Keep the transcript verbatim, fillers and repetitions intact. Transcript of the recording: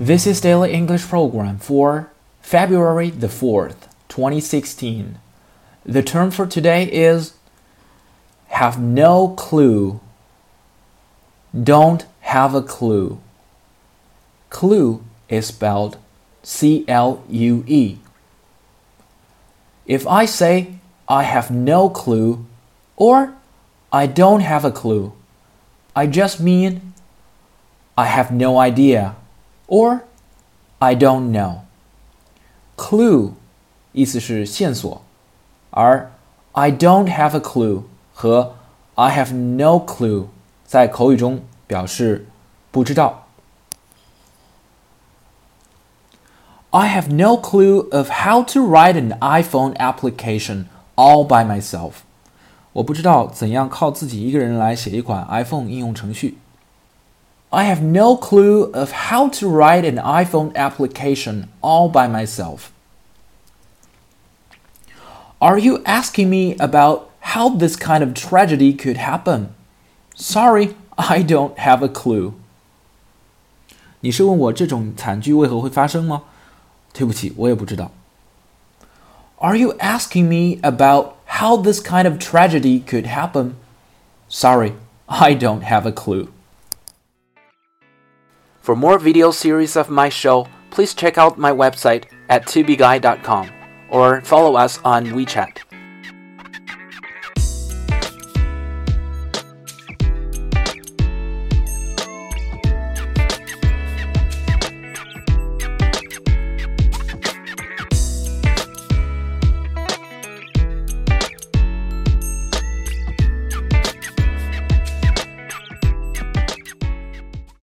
This is Daily English Program for February the fourth, twenty sixteen. The term for today is have no clue. Don't have a clue. Clue is spelled C L U E. If I say I have no clue or I don't have a clue, I just mean I have no idea or I don't know. Clue 意思是线索，而 I don't have a clue 和 I have no clue 在口语中表示不知道。I have no clue of how to write an iPhone application all by myself. 我不知道怎样靠自己一个人来写一款 iPhone 应用程序。I have no clue of how to write an iPhone application all by myself. Are you asking me about how this kind of tragedy could happen? Sorry, I don't have a clue. 你是问我这种惨剧为何会发生吗？对不起，我也不知道。Are you asking me about how this kind of tragedy could happen? Sorry, I don't have a clue. For more video series of my show, please check out my website at tubeguy dot com or follow us on WeChat.